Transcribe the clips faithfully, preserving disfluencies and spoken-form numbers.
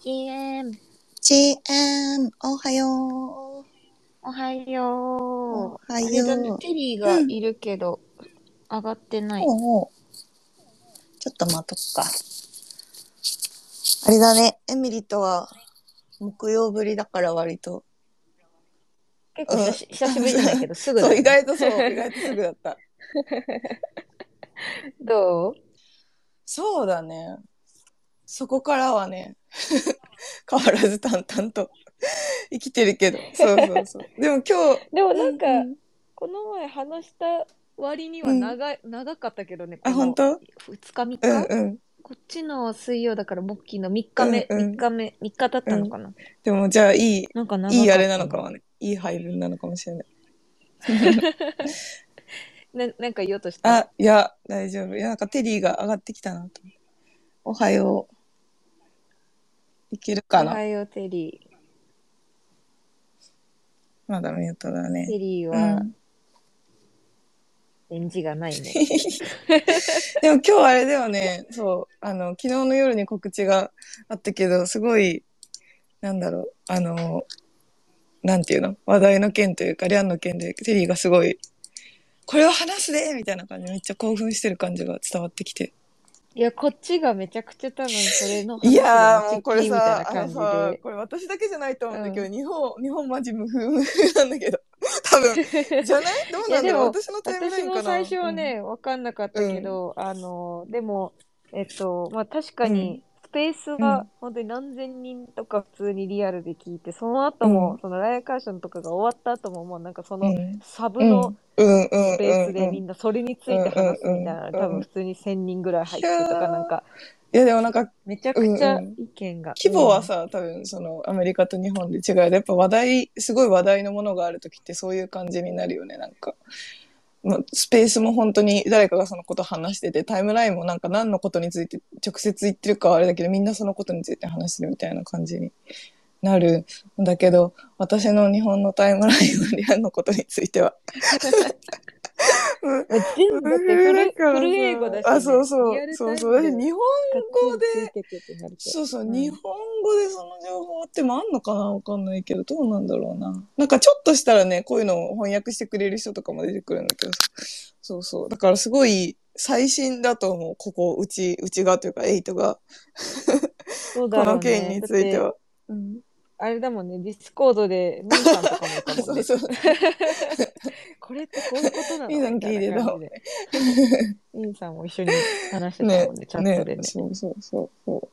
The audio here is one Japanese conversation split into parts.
ジーエム。 ジーエム、おはよう。 おはよう。 おはよう。 あれだね、テリーがいるけど、うん、上がってない。 おうおう、ちょっと待とっか。あれだね、エミリとは木曜ぶりだから割と。 結構久し、うん、久しぶりじゃないけど、すぐだね。 ね。 そう、意外とそう、意外とすぐだった。 どう？ そうだね。そこからはね、変わらず淡々と生きてるけど。そうそうそう。でも今日。 でもなんか、 うんうん、 この前話した割には長い、うん、長かったけどね、このあ、本当？ ふつかみっか、 うんうん、 こっちの水曜だからモッキーのみっかめ、 うんうん、 みっかめ、みっか経ったのかな、うん、 でもじゃあいい、 なんか長かった、ね、 いいあれなのかもね。いい配分なのかもしれない。 な, なんか言おうとした？ あ、いや、大丈夫。いや、なんかテリーが上がってきたなと。おはよう。いけるかな？ おはよう、テリー。 まだミュートだね。 テリーは、返事がないね。 でも今日あれだよね。そう。あの、昨日の夜に告知があったけど、すごい、なんだろう。あの、なんていうの？話題の件というか、リャンの件で、テリーがすごい、これを話すでみたいな感じでめっちゃ興奮してる感じが伝わってきて。 いや、こっちがめちゃくちゃ多分それのい話でやー、 持ちっもうこれきりみたいなさ、あの感じさ、 で。 これ私だけじゃないと思うんだけど、 うん、 日本、日本マジ無風無風なんだけど。多分、じゃない？どうなんだろう？私のタイムラインかな？ 私も最初はね、わ、うん、かんなかったけど、うん、あの、でも、えっと、まあ、確かに、スペースは本当に何千人とか普通にリアルで聞いて、その後も、うん、そのライアカーションとかが終わった後も、もうなんかその、サブのスペースでみんなそれについて話すみたいな、多分普通にせんにんぐらい入ってとかなんか、 いやでもなんか、 めちゃくちゃ意見が。 規模はさ、うん、多分そのアメリカと日本で違う。やっぱ話題、すごい話題のものがあるときってそういう感じになるよね、なんか。スペースも本当に誰かがそのこと話してて、タイムラインもなんか何のことについて直接言ってるかはあれだけど、みんなそのことについて話してるみたいな感じになるんだけど、私の日本のタイムラインはリアルのことについては全部だってフル、フル英語だし、ね、 あ、そうそう、そうそう。日本語で、そうそう、うん、日本語でその情報ってもあんのかな？わかんないけど、どうなんだろうな。なんかちょっとしたらね、こういうのを翻訳してくれる人とかも出てくるんだけど、そうそう。だからすごい最新だと思う、ここ、うち、うちがというか、エイトが。 そうだろうね、 この件については。 うん、あれだもんね、ディスコードでミーさんとかもいたもんね。そうそうこれってこういうことなの？ミーさん聞いてたもんね。ミーさんも一緒に話してたもんね、ねチャットでね。ね、 そうそうそうそう。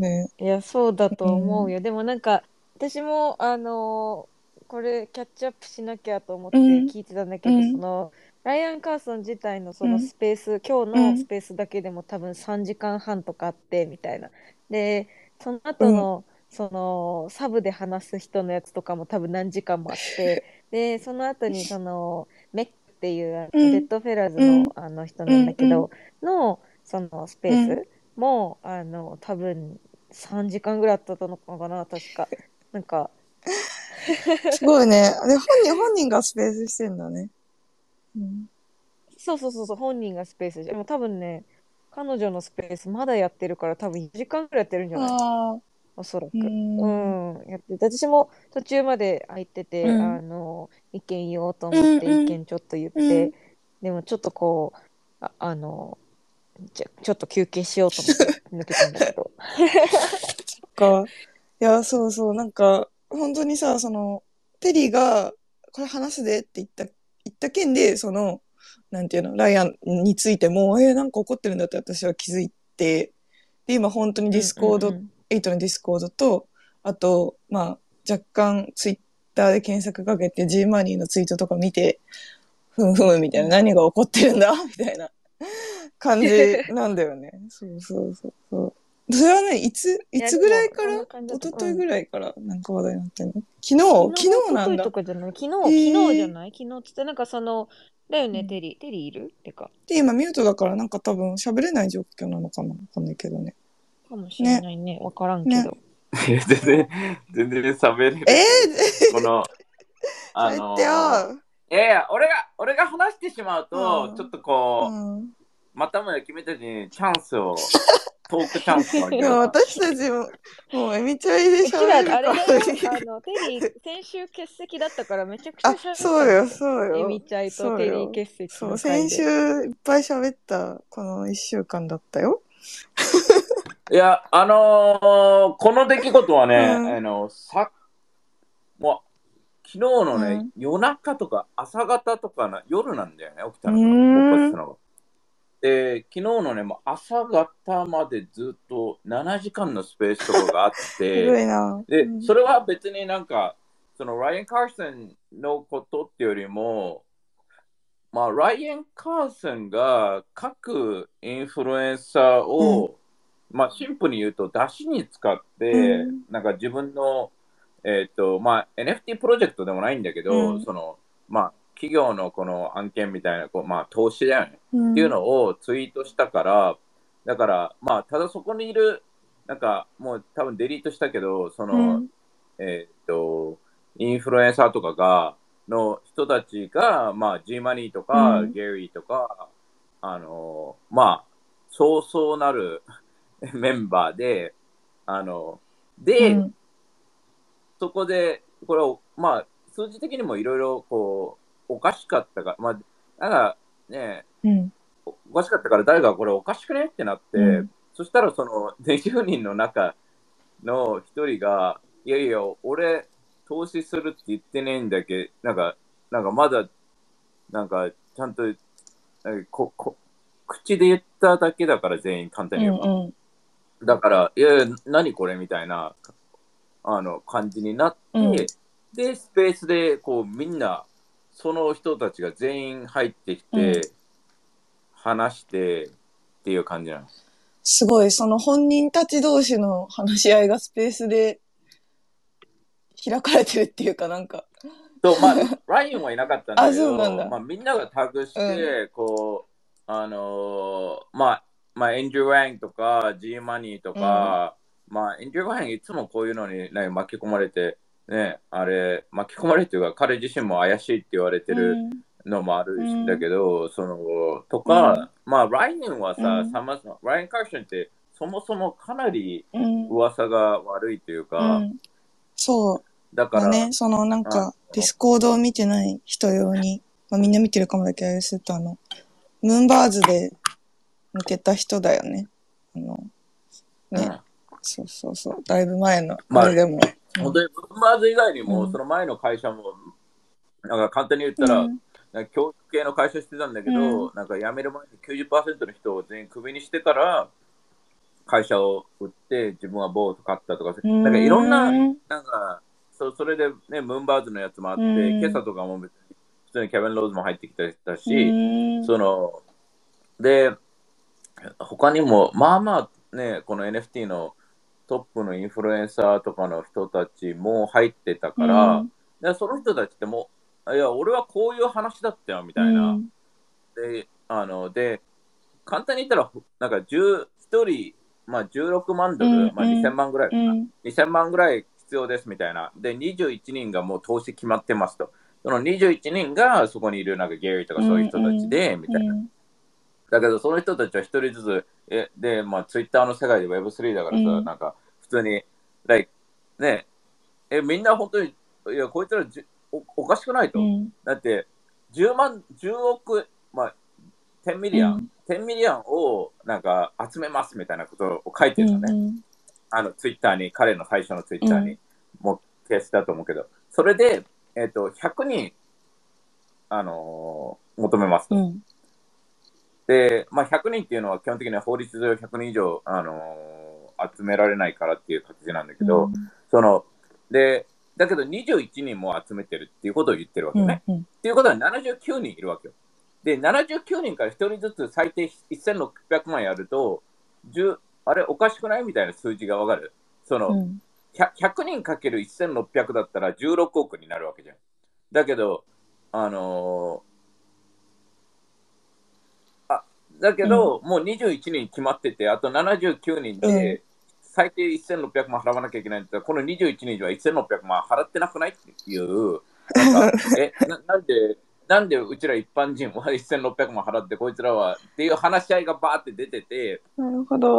ね。 いや、そうだと思うよ。うん、でもなんか、私も、あのー、これキャッチアップしなきゃと思って聞いてたんだけど、うん、その、ライアン・カーソン自体のそのスペース、うん、今日のスペースだけでも多分さんじかんはんとかあって、みたいな。で、その後の、うん、その、サブで話す人のやつとかも多分何時間もあって、で、その後にその、メックっていう、うん、デッドフェラーズのあの人なんだけど、うん、の、そのスペースも、あの、多分、さんじかんぐらいあったのかな、確か。なんか。 すごいね。で、本人、本人がスペースしてんだね。 うん、そうそうそうそう、本人がスペースでも多分ね、彼女のスペースまだやってるから多分いちじかんぐらいやってるんじゃない？おそらく。うん、うん、やってて。私も途中まで空いてて、うん、あの、意見言おうと思って意見ちょっと言って、うんうん、でもちょっとこう、あ、あの、ちょ、ちょっと休憩しようと思って抜けたんだけど。 そっか。いや、そうそう、なんか、本当にさ、その、テリーが、これ話すでって言った、言った件で、その、なんていうの、ライアンについても、えー、なんか怒ってるんだって私は気づいて、で、今本当にディスコード、うんうんうん、エイトのディスコードと、あと、まあ、若干ツイッターで検索かけて G マニーのツイートとか見て、ふむふむみたいな、うん、何が起こってるんだみたいな感じなんだよね。そうそうそうそう。それはね、いつ、いつぐらいから、一昨日ぐらいからなんか話題になってんの？昨日昨日なんだ。 昨日とかじゃない？昨日、昨日じゃない？昨日つってなんかその、だよね、うん、テリー。テリーいる？てか。 で、今ミュートだからなんか多分喋れない状況なのかな？わかんないけどね。 かもしれないね。わ、ね、からんけど。ね、 いや、全然、全然喋れる。 えー、 この、あのー、いやいや、俺が、俺が話してしまうと、ちょっとこう、うん、またもや君たちにチャンスをトークチャンスもあるいや、私たちも、もうエミチャイでうちら喋るあれだよから。 あのテリー先週欠席だったからめちゃくちゃあ、 喋ったんそうよ、 だよ。 そうよ。 エミチャイとテリー欠席そう、 の回先週で。 いっぱい喋ったこのいっしゅうかんだったよ。 いや、あのーこの出来事はね、 うんあの、さ、もう、昨日のね、 うん夜中とか朝方とかな夜なんだよね、起きたうのが、 ーん勃発したのが。で、昨日のね、もう朝方までずっとななじかんのスペースとかがあっすごいて、 な。 で、 うんそれは別になんか、そのライアン・カーソンのことっていうよりも、まあ、ライアン・カーソンが各インフルエンサーを、まあ、シンプルに言うと、出しに使って、 うんなんか自分の、えっ、と、まあ、エヌエフティー プロジェクトでもないんだけど、 うんその、まあ、企業のこの案件みたいな、こうまあ、投資だよね。 うんっていうのをツイートしたから、だから、まあ、ただそこにいる、なんか、もう多分デリートしたけど、その、 うんえっ、と、インフルエンサーとかが、の人たちが、まあ、G マニーとか、 うんゲリーとか、あの、まあ、そうそうなるメンバーで、あの、で、 うんそこで、これを、まあ、数字的にもいろいろ、こう、おかしかったか、まあ、なんかね、 うんおおかしかったから誰かこれおかしくねってなって、 うんそしたらそのにじゅうにんの中のひとりが、いやいや、俺、投資するって言ってねえんだけど、なんか、なんかまだ、なんか、ちゃんと、なんかここ口で言っただけだから全員簡単に言えば。 うんだから、いやいや、何これみたいなあの感じになって、 うんで、スペースでこうみんな、その人たちが全員入ってきて、 うん話してっていう感じなの。 すごい、その本人たち同士の話し合いがスペースで開かれてるっていうかなんか。 と、まあ、ラインはいなかったんだけあそうなんど、 だまあ、みんながタグして、こう、あのーまあ、まあ、エンジュワンとか、G マニーとか、まあ、エンジュワンいつもこういうのに、ね、巻き込まれて、ね、あれ、巻き込まれてるか、彼自身も怪しいって言われてるのもあるんだけど、その、とか、まあ、ラインはさ、 うんさまライン・カーションって、そもそもかなりうん噂が悪いというか、 うんそう。 だから、 まあね、そのなんかあ、 ディスコードを見てない人用に、まあみんな見てるかもだけど、あれするとあの、ムーンバーズで抜けた人だよね。あの、ね、 うんそうそうそう、だいぶ前の、 まああれでも。 本当にブンバーズ以外にも、 うんその前の会社も、なんか簡単に言ったら、 うんなんか教育系の会社してたんだけど、 うなんか辞める前にきゅうじゅっパーセントの人を全員クビにしてから、会社を売って自分はボート買ったとか、 うんなんかいろんな、 うんなんか、そそれでね、ムーンバーズのやつもあって、 うん今朝とかも別に普通にケビン・ローズも入ってきたりしたし、 うんその、で、他にも、まあまあね、この エヌエフティー のトップのインフルエンサーとかの人たちも入ってたから、 うんでその人たちってもう、いや、俺はこういう話だったよみたいな。で、あの、で、簡単に言ったら、なんかじゅうひとり、まあじゅうろくまんドル、 うんまあにせんまんぐらいかな、 うんにせんまんぐらい必要ですみたいな。で、にじゅういちにんがもう投資決まってますと。そのにじゅういちにんがそこにいるなんかゲリーとかそういう人たちで、みたいな。だけど、その人たちは一人ずつ、えで、まあ、ツイッターの世界で ウェブスリー だからさ、 うんなんか、普通に、like、ね、え、みんな本当に、いや、こいつらじおおかしくないと。 うんだって、じゅうまん、じゅうおく、まあ、じゅうミリオン、 うんじゅうミリオンをなんか集めますみたいなことを書いてるのね。 うんあの、ツイッターに、彼の最初のツイッターに、もう消したと思うけど、それで、えっ、と、ひゃくにん、あのー求めますと。 うんで、まあ、ひゃくにんっていうのは基本的には法律上ひゃくにん以上、あのー集められないからっていう形なんだけど、 うんその、で、だけどにじゅういちにんも集めてるっていうことを言ってるわけよね。 うんっていうことはななじゅうきゅうにんいるわけよ。で、ななじゅうきゅうにんからひとりずつ最低せんろっぴゃくまんやると、じゅうあれおかしくないみたいな数字がわかる。その、 うんひゃくにんかけるせんろっぴゃくだったらじゅうろくおくになるわけじゃん。だけど、あのーあ、だけど、もうにじゅういちにん決まってて、あとななじゅうきゅうにんで、最低せんろっぴゃくまん払わなきゃいけないんだったら、このにじゅういちにんはせんろっぴゃくまん払ってなくないっていう、なんか、えな、なんで、なんでうちら一般人はせんろっぴゃくまん払って、こいつらはっていう話し合いがバーって出てて、 なるほど。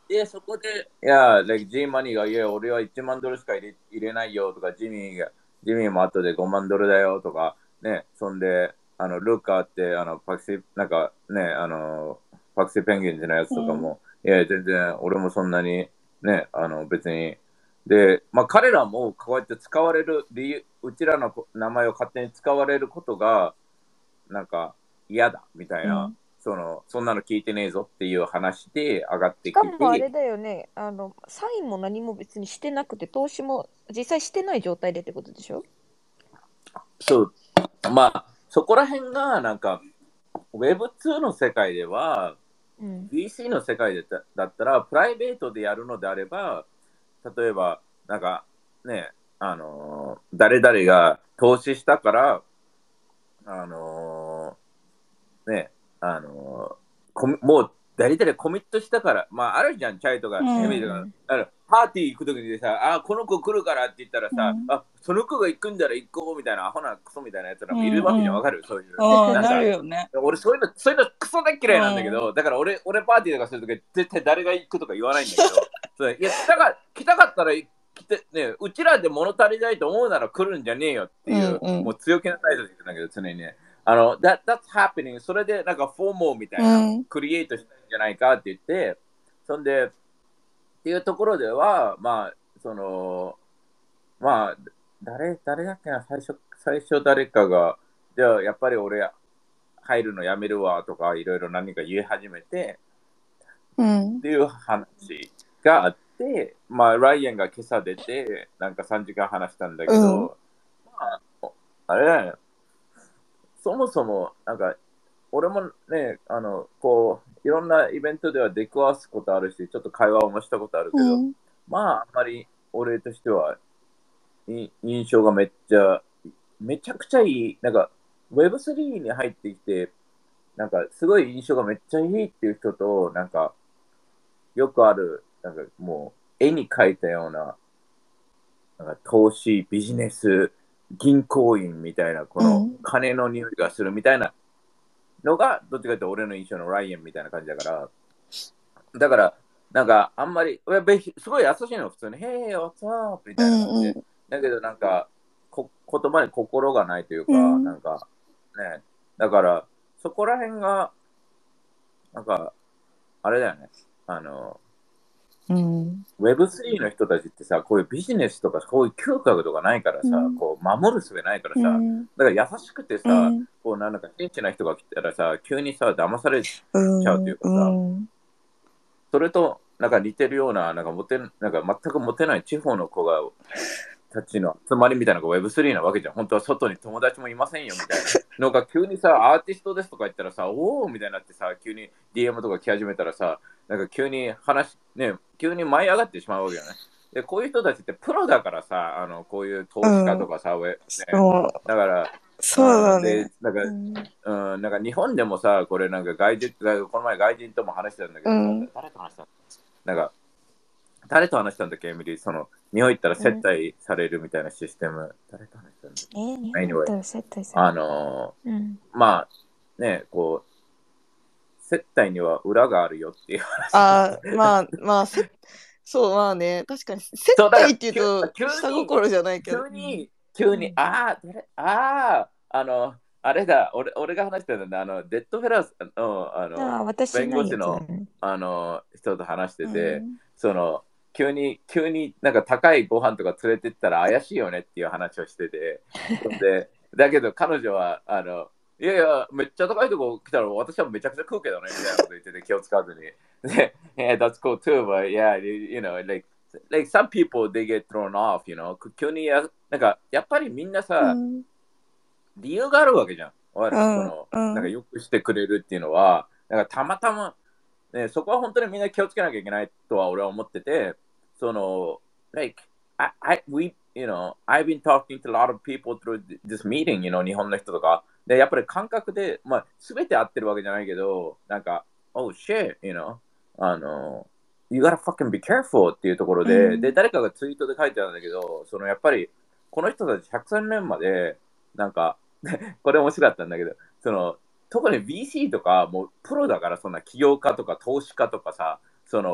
で、そこで、いや、like、G マニーが、いや、俺はいちまんドルしか入れ入れないよとか、ジミーが、ジミーも後でごまんドルだよとか、ね、そんで、あの、ルーカーって、あの、パクシー、なんかね、あの、パクシーペンギンズのやつとかも、うん、いや、全然、俺もそんなに、ね、あの、別に、で、まあ、彼らもこうやって使われる理由、うちらの名前を勝手に使われることが、なんか嫌だみたいな、うん、その、そんなの聞いてねえぞっていう話で上がってきて。 しかもあれだよね、あの、サインも何も別にしてなくて、投資も実際してない状態でってことでしょ？ そう。まあ、そこら辺が、なんか、ウェブツー の世界では、うん、ブイシー の世界でだったら、プライベートでやるのであれば、例えば、なんか、ね、あのー、誰々が投資したから、あのー、ね、あのー、もう、誰々コミットしたから、まあ、あるじゃん、チャイとか、エミリーとか、あのパーティー行くときにさ、あ、この子来るからって言ったらさ、うん、あ、その子が行くんだら行こうみたいな、アホなクソみたいなやつらもいるわけじゃん、わかる？そういう。 なんか、なるよね。 俺、そういうの、そういうのクソ大嫌いなんだけど、だから俺、俺パーティーとかするとき、絶対誰が行くとか言わないんだけど、そういや、来たか、来たかったら、来て、ね、うちらで物足りないと思うなら来るんじゃねえよっていう、うんうん、もう強気な態度で言ってんだけど、常にね。あの、that, that's happening. それでなんかフォーモーみたいな、うん、クリエイトしたいんじゃないかって言って、そんで、っていうところでは、まあ、その、まあ、誰、誰だっけな、最初、最初誰かが、じゃあやっぱり俺入るのやめるわとか、いろいろ何か言い始めて、うん、っていう話があって、まあ、ライアンが今朝出て、なんかさんじかん話したんだけど、うん、まあ、あれだよね。そもそも、なんか、俺もね、あの、こう、いろんなイベントでは出くわすことあるし、ちょっと会話をもしたことあるけど、うん、まあ、あんまり俺としては、印象がめっちゃ、めちゃくちゃいい、なんか、ウェブスリー に入ってきて、なんか、すごい印象がめっちゃいいっていう人と、なんか、よくある、なんかもう、絵に描いたような、なんか投資、ビジネス、銀行員みたいな、この金の匂いがするみたいなのが、どっちかというと俺の印象のライアンみたいな感じだから、だから、なんかあんまり、すごい優しいの、普通に、Hey, what's up? みたいな感じで。うんうん、だけどなんかこ、言葉に心がないというか、うん、なんか、ね、だから、そこら辺が、なんか、あれだよね、あの、うん、ウェブスリー の人たちってさ、こういうビジネスとか、こういう嗅覚とかないからさ、うん、こう守る術ないからさ、うん、だから優しくてさ、うん、こうなんか真摯な人が来たらさ、急にさ、騙されちゃうというかさ、うん、それとなんか似てるような、なんかモテ、なんか全くモテない地方の子が、たちの集まりみたいなのが ウェブスリー なわけじゃん。本当は外に友達もいませんよみたいなのが急にさ、アーティストですとか言ったらさ、おーみたいになってさ、急に ディーエム とか来始めたらさ、なんか急に話、ね、急に舞い上がってしまうわけよね。で、こういう人たちってプロだからさ、あの、こういう投資家とかさ、うんね、だから、 そうだね。 で、なんか、うんうん、なんか日本でもさ、これなんか外人、この前外人とも話してたんだけど、うん、誰と話したのなんか、誰と話したんだっけ、エミリー。その、日本行ったら接待されるみたいなシステム。うん、誰と話したんだっけ、 えー、日本行ったら接待される。あのーうん、まあ、ね、こう、接待には裏があるよっていう話。 ああ、まあ、まあ、そう、まあね、確かに、接待っていうと、下心じゃないけど。 急に、急に、うん、ああ、誰、ああ、あの、あれだ、俺俺が話してたんだ、あの、デッドフェラーの、あの、あ弁護士の、あの、人と話してて、うん、その、急に、急になんか高いご飯とか連れてったら怪しいよねっていう話をしてて、で、だけど彼女は、あの、いやいや、めっちゃ高いとこ来たら私はめちゃくちゃ食うけどね、みたいなこと言ってて気を使わずに。で、yeah, that's cool too, but yeah, you know, like, like some people, they get thrown off, you know. 急にや、なんか、やっぱりみんなさ、うん、理由があるわけじゃん。うん、その、うん、なんかよくしてくれるっていうのは、なんかたまたま、ね、そこは本当にみんな気をつけなきゃいけないとは俺は思ってて、その、like, I, I, we, you know, I've been talking to a lot of people through this meeting, you know, 日本の人とか。で、やっぱり感覚で、まあ、すべて合ってるわけじゃないけど、なんか、oh shit, you know, あの、you gotta fucking be careful っていうところで、うん、で、誰かがツイートで書いてたんだけど、そのやっぱり、この人たちひゃくさんねんまで、なんか、これ面白かったんだけど、その、特に ブイシー とか、もうプロだから、そんな起業家とか投資家とかさ、その、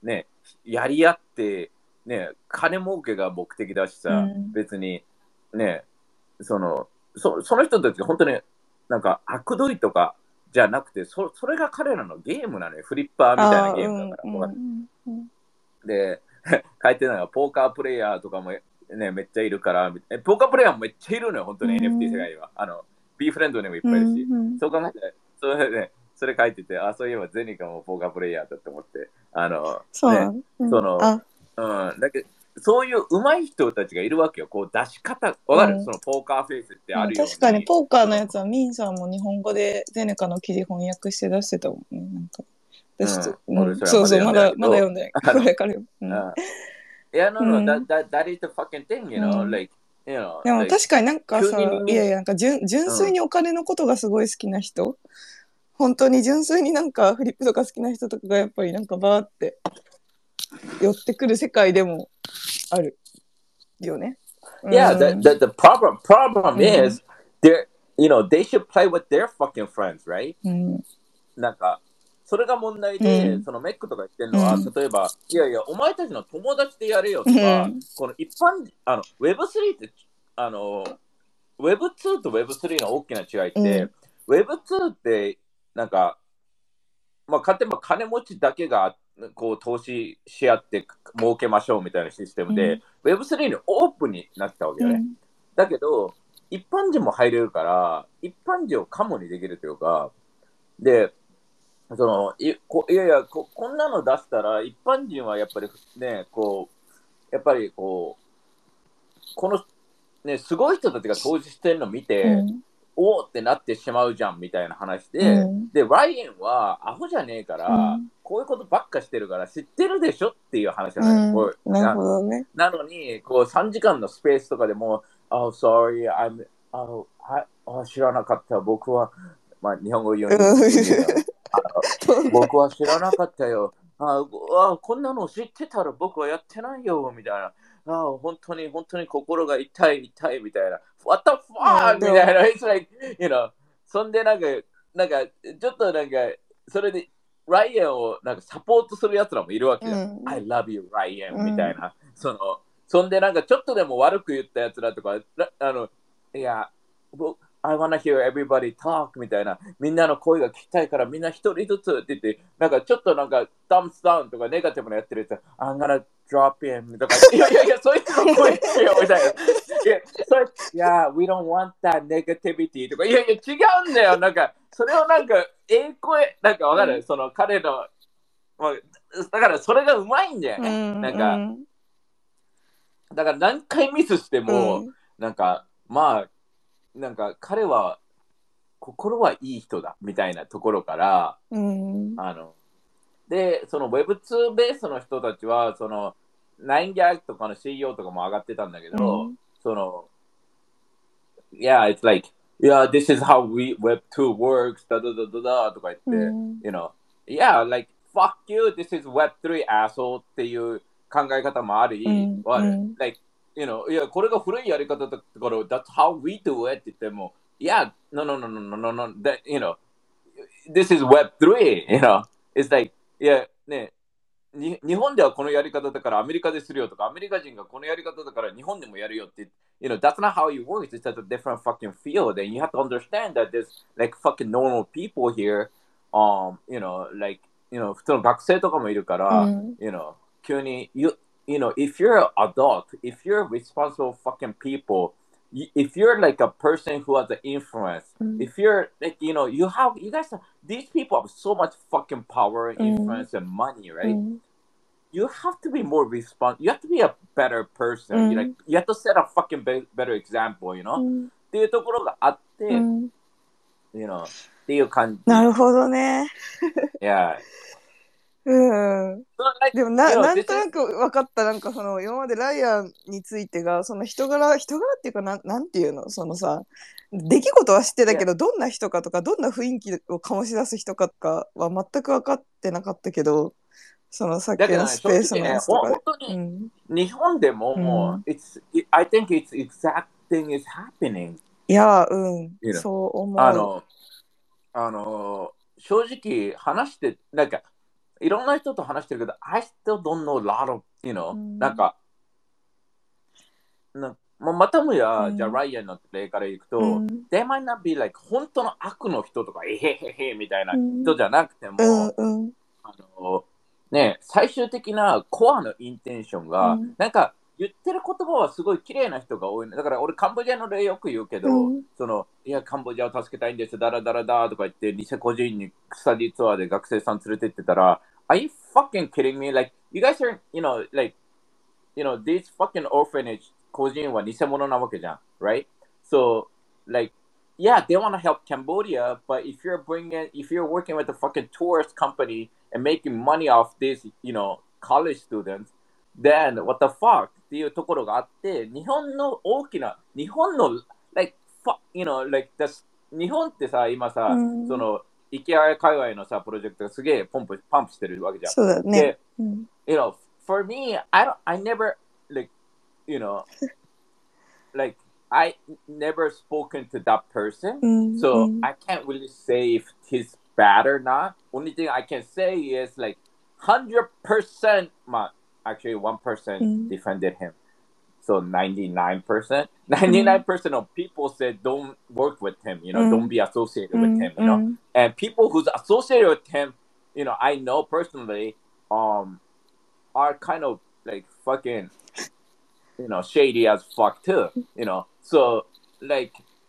ね、やり合って、ね、金儲けが目的だしさ、うん、別に、ね、その、そ, その人たちが本当になんか悪どいとかじゃなくて、そ, それが彼らのゲームなのよ。フリッパーみたいなゲームだから。うんうんうん、で、書いてるのがポーカープレイヤーとかも、ね、めっちゃいるから、ポーカープレイヤーもめっちゃいるのよ、本当に、うん、エヌエフティー 世界には。あの、B フレンドにもいっぱいいるし、うんうん、そう考えて、それで、ね、それ書いてて、あ、そういえばゼニカもポーカープレイヤーだと思って、あの、 そう、 ね、うん、その、うん、だけど、そういう上手い人たちがいるわけよ。こう出し方、わかる、うん、そのポーカーフェイスってあるように、 うん、確かにポーカーのやつはミンさんも日本語でゼネカの記事翻訳して出してたもんね。なんかうんうん、 そうそう、まだまだ読んでない。これからよ。 いや、no, no, that, that, that is the fucking thing, you know,、うん、like, you know, でも確かになんかさ、いやいや、なんか純純粋にお金のことがすごい好きな人、うん、本当に純粋になんかフリップとか好きな人とかがやっぱりなんかバーって寄ってくる世界でもあるよね。 Yeah, the, the, the problem, problem is, they're, you know, they should play with their fucking friends, right? なんか、それが問題で、そのメックとか言ってるのは、例えば、いやいや、お前たちの友達でやれよとか、この一般、あの、ウェブスリー って、あの、ウェブツー と ウェブスリー の大きな違いって、ウェブツー って、なんか、まあ、例えば金持ちだけがこう投資し合って儲けましょうみたいなシステムで、うん、ウェブスリー にオープンになったわけよね。うん、だけど、一般人も入れるから、一般人をカモにできるというか、で、そのいこいやいやこ、こんなの出したら、一般人はやっぱりね、こう、やっぱりこう、この、ね、すごい人たちが投資してるのを見て、うんおーってなってしまうじゃんみたいな話で、うん、で、ライエンはアホじゃねえから、うん、こういうことばっかしてるから知ってるでしょっていう話なのよ。うん、こうなるほどね。 なのに、こうさんじかんのスペースとかでも、Oh, sorry, I'm, oh, I, oh, 知らなかった。僕は、まあ、日本語言うに、僕は知らなかったよ。ああ、こんなの知ってたら僕はやってないよ、みたいな。ああ、本当に、本当に心が痛い、痛い、みたいな。What the fuck? みたいな。It's like, you know, そんでなんか、なんか、ちょっとなんか、それで、ライアンをなんかサポートするやつらもいるわけよ。うん、I love you, ライアン、みたいな。その、そんでなんか、ちょっとでも悪く言ったやつらとか、あの、いや、I wanna hear everybody talk みたいな、みんなの声が聞きたいからみんな一人ずつって言って、なんかちょっとなんか、thumbs down とかネガティブなやってるやつ、I'm gonna drop in とか、いやいやいや、そいつの声聞けよみたいな。いや、それ、いや、we don't want that negativity とか、いやいや、違うんだよ。なんか、それをなんか、ええ声、なんかわかる、うん、その彼の、まあ、だからそれがうまいんだよね。うん、なんか、うん、だから何回ミスしても、うん、なんか、まあ、なんか彼は心はいい人だみたいなところから、うん、あのでその ウェブツー ベースの人たちはそのナインギャグとかの シーイーオー とかも上がってたんだけど、うん、その Yeah, it's like Yeah, this is how we ウェブツー works だだだだだとか言って、うん、You know Yeah, like fuck you, this is ウェブスリー asshole っていう考え方もあり、うん、like You know, いや、これが古いやり方だから、That's how we do it って言っても、Yeah, no, no, no, no, no, no, no, that, you know, this is ウェブスリー, you know, it's like, いや、ね、に日本ではこのやり方だからアメリカでするよとか、アメリカ人がこのやり方だから日本でもやるよって、you know, that's not how it works, it's at a different fucking field, and you have to understand that there's like fucking normal people here, um, you know, like, you know, 普通の学生とかもいるから、うん、you know, 急に、you, You know, if you're an adult, if you're responsible fucking people, if you're like a person who has an influence, mm. if you're like, you know, you have, you guys, have, these people have so much fucking power, influence, mm. and money, right? Mm. You have to be more responsible. You have to be a better person. Mm. You like, you have to set a fucking be- better example, you know? っていうところがあって、you know, っていう感じ。 なるほどね。 Yeah. うん、でもな、なんとなく分かった。なんかその今までライアンについてがその人柄人柄っていうかな、なんていうの、そのさ、出来事は知ってたけど、どんな人かとかどんな雰囲気を醸し出す人かとかは全く分かってなかったけど、そのさっきのスペースのやつとかで、 ね、本当に日本でも、うん、it's, I think it's exact thing is happening. いや、うん、you know? そう思う。 あの、あの正直話してなんかいろんな人と話してるけど、I still don't know a lot of, you know,、 うん、 なんか、なままたもや、 うん、 じゃあライアンの例からいくと、 うん、 they might not be like 本当の悪の人とか、えへへへみたいなうん人じゃなくても、 うんうんあのね、最終的なコアのインテンションが、 うん、 なんか言ってる言葉はすごい綺麗な人が多い。だから俺カンボジアの例よく言うけど、 うん、 そのいやカンボジアを助けたいんです、ダラダラダーとか言って、ニセ個人にスタディツアーで学生さん連れてってたら、Are you fucking kidding me? Like, you guys are, you know, like, you know, these fucking orphanage 個人は偽物なわけじゃん、right? So, like, yeah, they want to help Cambodia, but if you're bringing, if you're working with a fucking tourist company and making money off these, you know, college students, then what the fuck っていうところがあって、日本の大きな、日本の、like, fuck, you know, like, this, 日本ってさ、今さ、 うん、 その、イケア界隈のさ、プロジェクトがすげえポンプ、パンプしてるわけじゃん。 そうだね。 で、 うん、 you know, for me, I don't, I never, like, you know, like, I never spoken to that person, うん、 so うん、 I can't really say if he's bad or not. Only thing I can say is like one hundred percent, ma- actually one う percent ん defended him. So ninety-nine percent, ninety-nine percent of people said don't work with him, you know, うん don't be associated う with ん him, う you know. ん And people who's associated with him, you know, I know personally, um, are kind of like fucking, you know, shady as fuck too, you know. So like,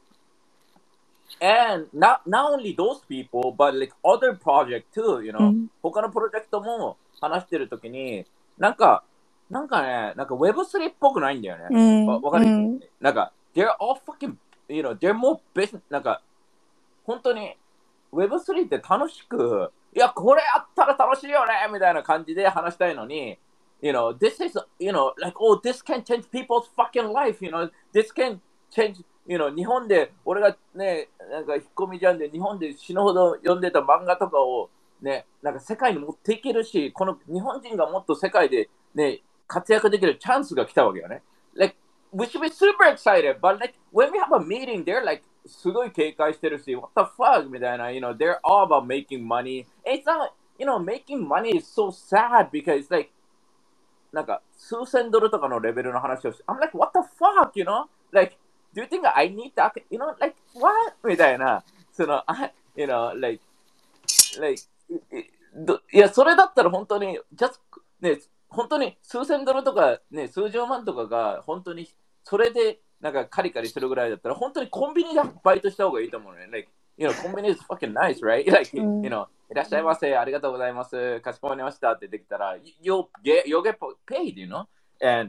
and not not only those people, but like other project too, you う know. ん他のプロジェクトも話してるときに、なんか、なんかね、なんか ウェブスリー っぽくないんだよね。 うんわわかる、 うん、 なんか、they're all fucking, you know, they're more business, なんか、本当に ウェブスリー って楽しく、いや、これやったら楽しいよねみたいな感じで話したいのに、you know, this is, you know, like, oh, this can change people's fucking life, you know, this can change, you know, 日本で、俺がね、なんか引っ込みじゃんで、日本で死ぬほど読んでた漫画とかを、ね、なんか世界に持っていけるし、この日本人がもっと世界で、ね、活躍できるチャンスが来たわけよね。Like, we should be super excited, but like, when we have a meeting, they're like, すごい警戒してるし、what the fuck みたいな、you know, they're all about making money. It's not, you know, making money is so sad because, like, なんか数千ドルとかのレベルの話をして、I'm like, what the fuck, you know? Like, do you think I need that? You know, like, what? みたいな、その、I, you know, like, like, どいや、それだったら本当に、just, ね、本当に数千ドルとか、ね、数十万とかが、本当に、それで、なんかカリカリするぐらいだったら、本当にコンビニでバイトした方がいいと思うね。Like, you know, コンビニ is fucking nice, right? Like, うん you know, いらっしゃいませ、ありがとうございます、かしこまりましたってできたら、you'll get, you'll get paid, you know? And,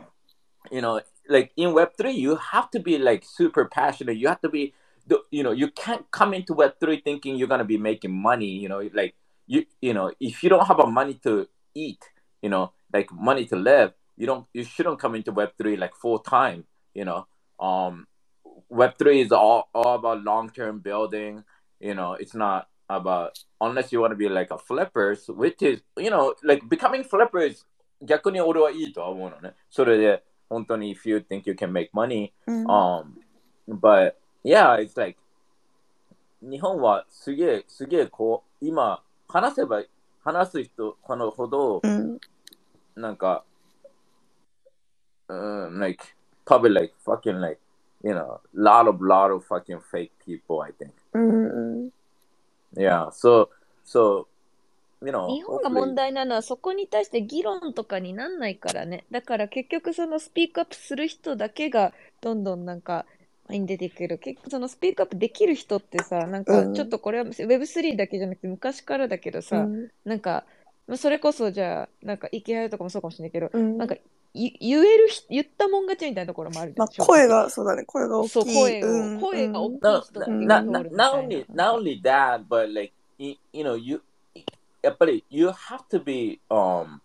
you know, like in Web three, you have to be like super passionate. You have to be, you know, you can't come into Web three thinking you're gonna be making money, you know, like, you, you know, if you don't have a money to eat, you know, like money to live, you don't, you shouldn't come into Web three like full time, you know. Um, Web three is all, all about long-term building, you know, it's not about, unless you want to be like a flippers, which is, you know, like becoming flippers, 逆に俺はいいとは思うのね。それで、本当に if you think you can make money, うん um, but yeah, it's like, 日本はすげえ、すげえこう、今、話せば、話す人このほど、 うん、 なんか、um, like, probably like fucking like, you know, lot of, lot of fucking fake people, I think. うんうん Yeah, so, so, you know, 日本が hopefully, 問題なのはそこに対して議論とかになんないからね。だから結局そのスピークアップする人だけがどんどんなんか前に出てくる。結局そのスピークアップできる人ってさ、なんかうんちょっとこれは ウェブスリー だけじゃなくて昔からだけどうさ、 んなんかまあそれこそじゃあなんかイケハヤとかもそうかもしれないけど、 うんなんかい言えるひ言ったもん勝ちみたいなところもあるじゃん。 まあ、 正直声が、そうだね、声が大そうきい。 声を、 うん声が大きい no, 人だけ not, が not, 通るみ not たい only, な。 not only that, but like, you, you know, you, やっぱり you have to be, um,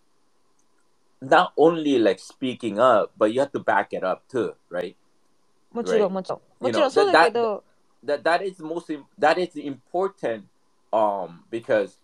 not only like speaking up, but you have to back it up too, right? もちろ Right? んもちろん。 You もちろ know, んそう that, だけ that, ど、 that, that is most, im- that is important, um, because,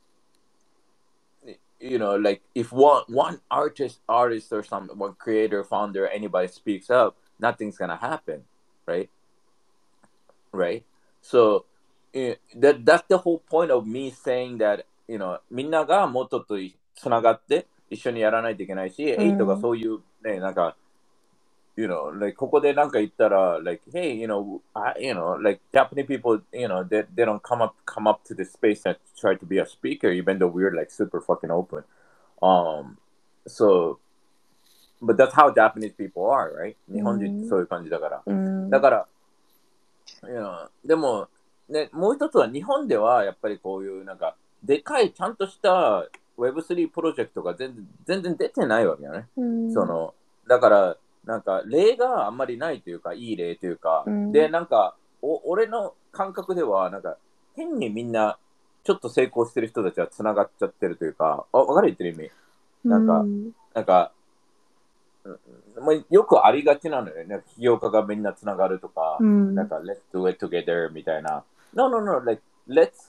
you know, like if one, one artist, artist or some, one creator, founder, anybody speaks up, nothing's gonna happen, right? Right? So, eh, that that's the whole point of me saying that, you know, みんながもっととつながって一緒にやらないといけないし、エイトがそういうね、なんか、you know, like ここでなんか言ったら、like, hey, you know, I, you know, like Japanese people, you know, they, they don't come up come up to the space and try to be a speaker, even though we're like super fucking open. Um, so, but that's how Japanese people are, right? 日本人ってそういう感じだから。だから、you know, でも、ね、もう一つは日本ではやっぱりこういうなんか、でかいちゃんとした ウェブスリー プロジェクトが全然全然出てないわけよね。そのだからなんか例があんまりないというか、いい例というか、でなんかお俺の感覚ではなんか変にみんなちょっと成功してる人たちはつながっちゃってるというか、わかる言ってる意味。なんかなんかよくありがちなのよね。起業家がみんなつながるとか、なんか let's do it together みたいな。No, no, no, like let's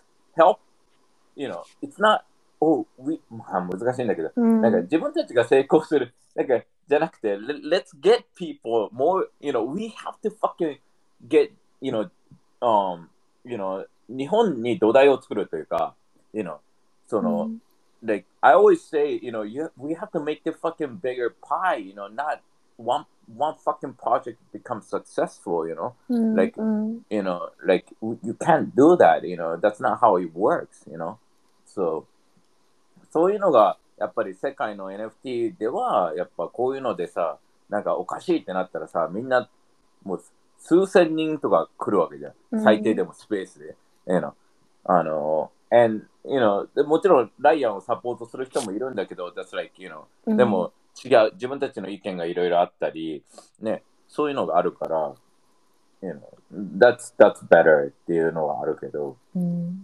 help.You know, it's not, oh, we, まあ難しいんだけど、うん、なんか自分たちが成功する、なんかじゃなくて、let's get people more, you know, we have to fucking get, you know, um, you know, 日本に土台を作るというか、you know, その、うん、like, I always say, you know, you, we have to make the fucking bigger pie, you know, not one, one fucking project become successful, you know, mm, like, mm. you know, like, you can't do that, you know, that's not how it works, you know, so, そういうのが、やっぱり世界の エヌエフティー では、やっぱこういうのでさ、なんかおかしいってなったらさ、みんな、もう数千人とか来るわけじゃん。最低でもスペースで。you know, あの、and, you know, でもちろんライアンをサポートする人もいるんだけど、that's like, you know, でも違う、自分たちの意見がいろいろあったり、ね、そういうのがあるから、you know, that's, that's better っていうのはあるけど、うん、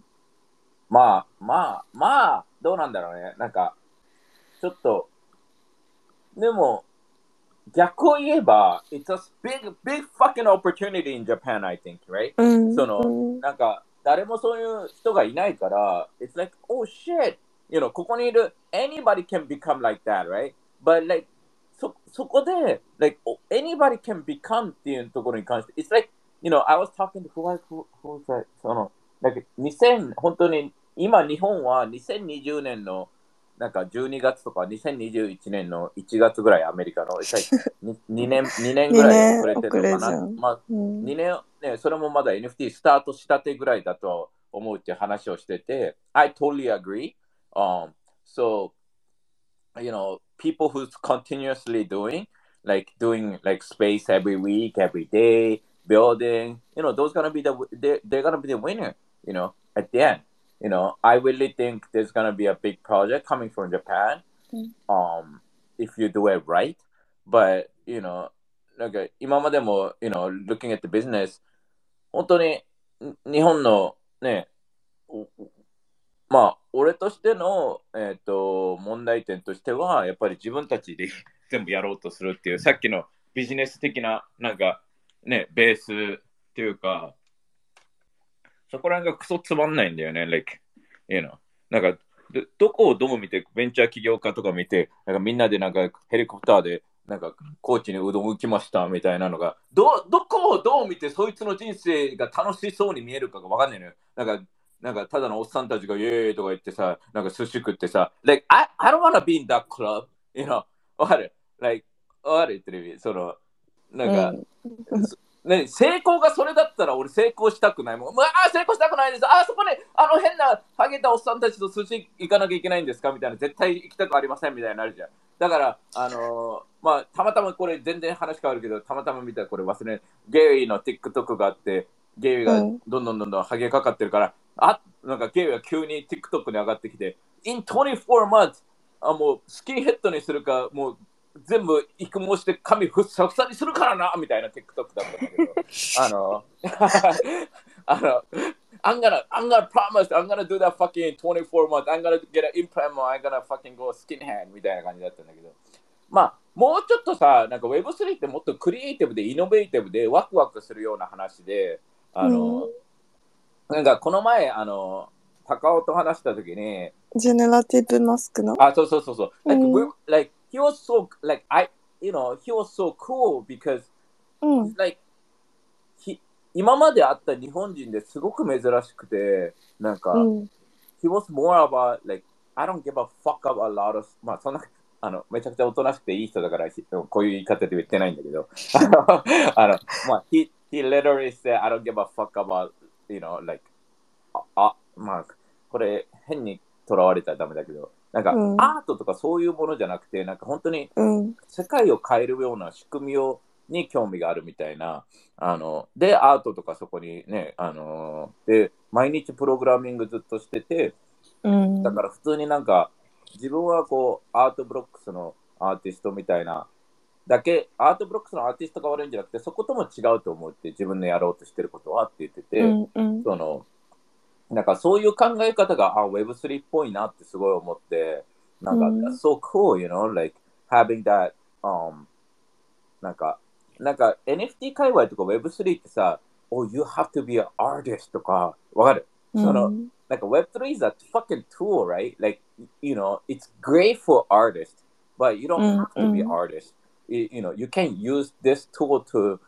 まあ、まあ、まあ、どうなんだろうね。なんか、ちょっと、でも、逆を言えば、it's a big, big fucking opportunity in Japan, I think, right?、うん、その、うん、なんか、誰もそういう人がいないから、it's like, oh shit, you know, ここにいる、anybody can become like that, right? But like, そ、そこで、like, anybody can become っていうところに関して、it's like, you know, I was talking to, who was, who, who was that? その、like, にせん、本当に、今日本はにせんにじゅうねんのなんかじゅうにがつとかにせんにじゅういちねんのいちがつぐらいアメリカの 2, 年にねんぐらい遅れてるのかな。まあ、うん、にねんね、それもまだ エヌエフティー スタートしたてぐらいだと思うって話をしてて、I totally agree. Um, so, you know, people who's continuously doing, like doing like space every week, every day, building, you know, those gonna be the, they're, they're gonna be the winner, you know, at the end.You know, I really think there's gonna be a big project coming from Japan, um, if you do it right. But you know, なんか今までも you know, looking at the business, 本当に日本のね、まあ俺としてのえっと問題点としてはやっぱり自分たちで全部やろうとするっていうさっきのビジネス的ななんかねベースっていうか。そこら辺がクソつまんないんだよね、like, you know. なんかど、どこをどう見て、ベンチャー起業家とか見て、なんかみんなでなんかヘリコプターで、なんか高知にうどん浮きましたみたいなのが、ど、どこをどう見て、そいつの人生が楽しそうに見えるかがわかんないのよ。なんか、なんかただのおっさんたちがイエーイとか言ってさ、なんか寿司食ってさ、like, I, I don't wanna be in that club, you know. わかる ?like, わかる言ってる意味。その、なんか、うんね、成功がそれだったら俺成功したくないもん。ああ、成功したくないです。ああ、そこにあの変なハゲたおっさんたちと寿司行かなきゃいけないんですかみたいな。絶対行きたくありませんみたいになるじゃん。だから、あのー、まあ、たまたまこれ全然話変わるけど、たまたま見たらこれ忘れない。ゲイリーの TikTok があって、ゲイリーがどんどんどんどんハゲかかってるから、うん、あ、なんかゲイリーが急に TikTok に上がってきて、in twenty-four months、あ、もうスキンヘッドにするか、もう、全部育毛して髪ふっさふさにするからなみたいな TikTok だったんだけどあのあの I'm gonna I'm gonna promise I'm gonna do that fucking twenty-four months I'm gonna get an implant I'm gonna fucking go skinhead みたいな感じだったんだけどまあもうちょっとさなんか ウェブスリー ってもっとクリエイティブでイノベーティブでワクワクするような話であの、うん、なんかこの前あの高尾と話した時にジェネラティブマスクのあそうそうそうそう like、うん、like he was so like I you know he was so cool because、うん、like he 今まで会った日本人ですごく珍しくてなんか、うん、 he was more about, like, I don't give a fuck about a lot of, まあ、そんな、あの、めちゃくちゃおとなしくていい人だから、こういう言い方で言ってないんだけど、あの、あのまあ、he, he literally said, I don't give a fuck about, you know, like, あ、あまあ、これ変にとらわれたらダメだけど、なんか、うん、アートとかそういうものじゃなくて、なんか本当に世界を変えるような仕組みをに興味があるみたいな、あの、で、アートとかそこにね、あの、で、毎日プログラミングずっとしてて、うん、だから普通になんか、自分はこう、アートブロックスのアーティストみたいな、だけ、アートブロックスのアーティストが悪いんじゃなくて、そことも違うと思って自分のやろうとしてることはって言ってて、うんうん、その、なんかそういう考え方が、あ、ウェブスリー っぽいなってすごい思って、なんか、うん、so cool, you know, like having that, um, なんか、なんか エヌエフティー 界隈とか ウェブスリー ってさ、oh, you have to be an artist とか、わかる、うん、その、なんか ウェブスリー is a fucking tool, right? Like, you know, it's great for artists, but you don't have to be an artist. You, you know, you can use this tool to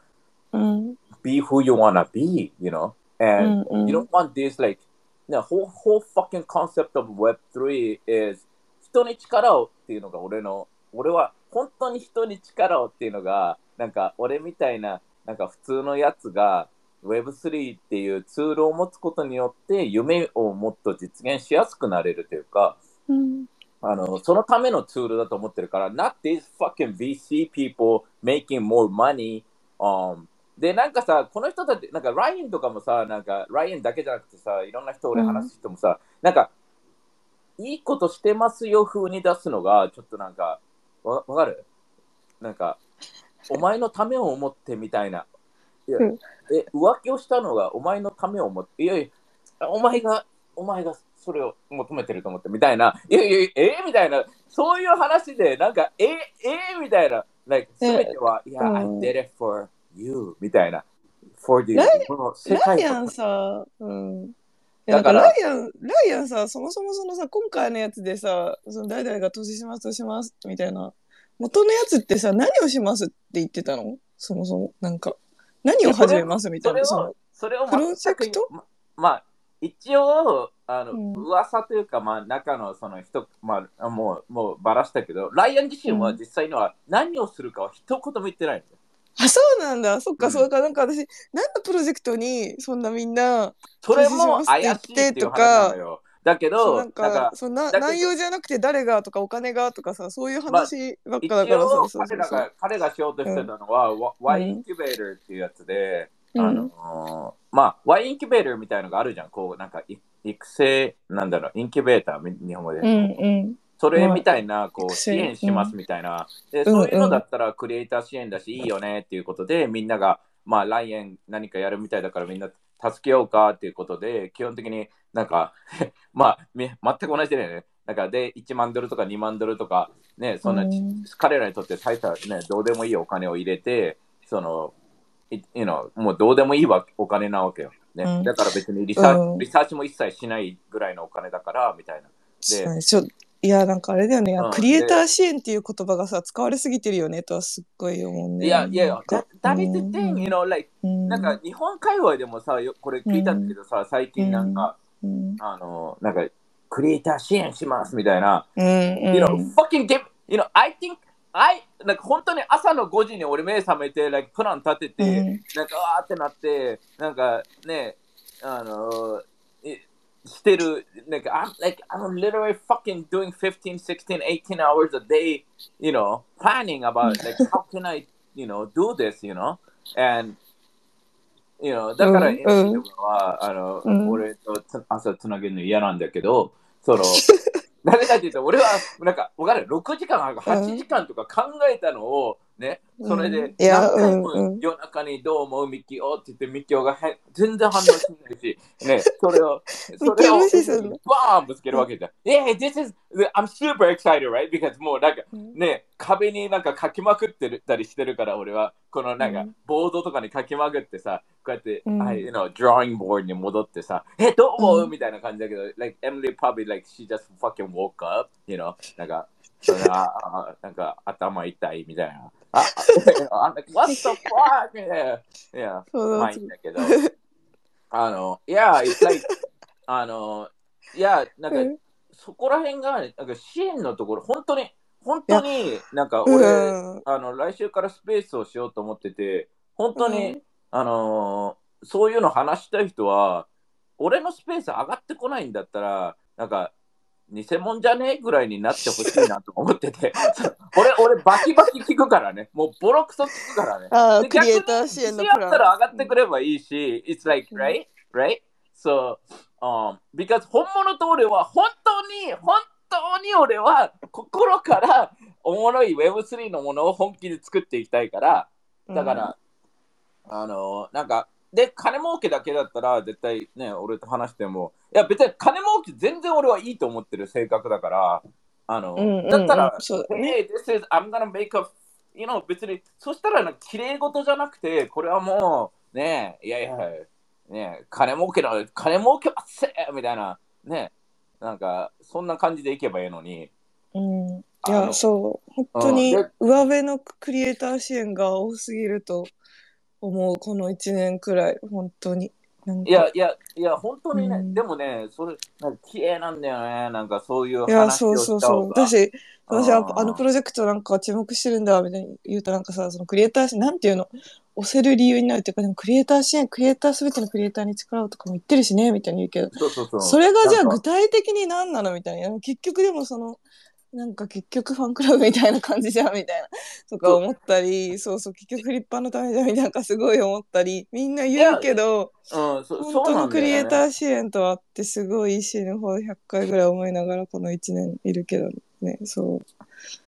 be who you want to be, you know? And you don't want this, like, the whole, whole fucking concept of ウェブスリー is 人に力をっていうのが俺の、俺は本当に人に力をっていうのが、なんか俺みたいな、なんか普通のやつが ウェブスリー っていうツールを持つことによって夢をもっと実現しやすくなれるというか、うん、あのそのためのツールだと思ってるから、not these fucking ブイシー people making more money、um, で、なんかさ、この人たち、なんかライアンとかもさ、なんかライアンだけじゃなくてさ、いろんな人俺話す人もさ、うん、なんかいいことしてますよ風に出すのが、ちょっとなんか、わ, わかるなんか、お前のためを思ってみたいな。いや、うん、え、浮気をしたのがお前のためを思って、いやいや、お前が、お前がそれを求めてると思ってみたいな。いやいや、えー、みたいな。そういう話で、なんか、えー、えー、みたいな。like、すべては、いや、うん、I did it for you みたいな。for the この世界ライアンさ、うん。だからライアン、ライアンさ、そもそもそのさ、今回のやつでさ、その誰々が投資します、投資しますみたいな。元のやつってさ、何をしますって言ってたの？そもそも。なんか、何を始めますみたいな。 それを、それをプロジェクト？ ま、まあ、一応、あの、うん、噂というか、まあ、中のその人、まあ、もう、もうばらしたけど、ライアン自身は実際には何をするかは一言も言ってないんだよ。 あ、そうなんだ。そっか、うん、そうか。なんか私、何のプロジェクトにそんなみんな、 それも怪しいっていう話なのよ。だけど、 なんか、なんかそんな内容じゃなくて誰がとかお金がとかさ、そういう話ばっかだからさ、 まあ、彼らが、彼がしようとしてたのは、うん、Y インキュベーターっていうやつで、うん、あのー、まあ、Y インキュベーターみたいなのがあるじゃん。こう、なんか、育成、なんだろう、インキュベーター、日本語で。うんうん、それみたいな、こう、支援しますみたいな。で、そういうのだったら、クリエイター支援だし、いいよねっていうことで、みんなが、まあ、来年何かやるみたいだから、みんな助けようかっていうことで、基本的になんか、まあ、全く同じだよね。なんか、で、いちまんドルとかにまんドルとか、ね、そんな、彼らにとって最初はね、どうでもいいお金を入れて、その、you know、もうどうでもいいわお金なわけよ。ね、うん、だから別にリサーチ、うん、リサーチも一切しないぐらいのお金だから、みたいな。 で、ちょいや、なんかあれだよね、うん、クリエイター支援っていう言葉がさ、使われすぎてるよねとはすっごい思うね。 いやいやいや、that is the thing, you know, like、うん、なんか日本界隈でもさ、これ聞いたんだけどさ、うん、最近なんか、うん、あの、なんか、クリエイター支援しますみたいな。うん、you know, fucking give, you know, I think, I, なんか本当に朝のごじに俺目覚めて、like、プラン立てて、うん、なんかわーってなって、なんかね、あの、してる、なんか、I'm, like, I'm literally fucking doing fifteen, sixteen, eighteen hours a day, you know, planning about, like, how can I, you know, do this, you know, and, you know, だから、エムシー とかは、あの、うん、俺と朝つなげるの嫌なんだけど、その、なぜかっていうと、俺は、なんか、わかる ?ろく 時間、はちじかんとか考えたのを、ね、それで、何回も夜中にどう思うミキオって言って、ミキオが全然反応しないし、ね、それを、それをバーンぶつけるわけじゃん。Yeah, this is, I'm super excited, right? Because もうなんか、ね、壁になんか書きまくってたりしてるから、俺は、このなんか、ボードとかに書きまくってさ、こうやって、うん、I, you know, drawing board に戻ってさ、え、どう思う、うん、みたいな感じだけど、like, Emily probably, like, she just fucking woke up, you know, なんか、それは、なんか、頭痛いみたいな。あ、I'm like, what the fuck? Yeah, yeah, まあいいんだけど、あの、yeah, it's like, あの、 いや、なんか、 うんそこら辺が、なんか支援のところ、本当に、本当に、なんかう俺、 ん。 あの、来週からスペースをしようと思ってて、本当に、 うんあのーそういうの話したい人は、俺のスペース上がってこないんだったら、なんか、偽物じゃねえぐらいになってほしいなと思ってて、そう俺、俺、バキバキ聞くからね、もうボロクソ聞くからね。 ああ、 で、 クリエイ逆にター支自信あった援のプラン。 ら上がってくればいいし、it's like, うん right? Right? So, um, because 本物と俺は本当に、本当に俺は心からおもろい ウェブスリー のものを本気で作っていきたいから、だから、あのなんか、で、金儲けだけだったら、絶対ね、俺と話しても、いや、別に金儲け全然俺はいいと思ってる性格だから、あの、 うんうんうんだったら、 そうだ Hey, ね this is, I'm gonna make a, you know, 別に、そしたら、綺麗事じゃなくて、これはもう、ね、いやいや、ね、金儲けだ、金儲けはっせみたいな、ね、なんか、そんな感じでいけばいいのに、 うん。いあや、 のそう。本当うんにで上辺のクリエイター支援が多すぎると思う。この一年くらい。本当に。なんかいやいやいや、本当にね、 うんでもね、それ、なんか綺麗なんだよね、なんかそういういや、 話そうをしたそうそう。 方が。 私、私はあのうんプロジェクトなんか注目してるんだ、みたいに言うとなんかさ、そのクリエイター支援、なんていうの、押せる理由になるっていうか、でもクリエイター支援、クリエイターすべてのクリエイターに力をとかも言ってるしね、みたいに言うけど、 そうそうそう。 それがじゃあなんか具体的に何なのみたいな。結局でもその、なんか結局ファンクラブみたいな感じじゃんみたいなとか思ったり、そうそう、結局フリッパーのためじゃんみたいな、なんかすごい思ったり、みんな言うけど、 うん、そ本そうな当にクリエイんだよね。 ター支援とはってすごい死ぬほどひゃっかいぐらい思いながらこのいちねんいるけどね、そう。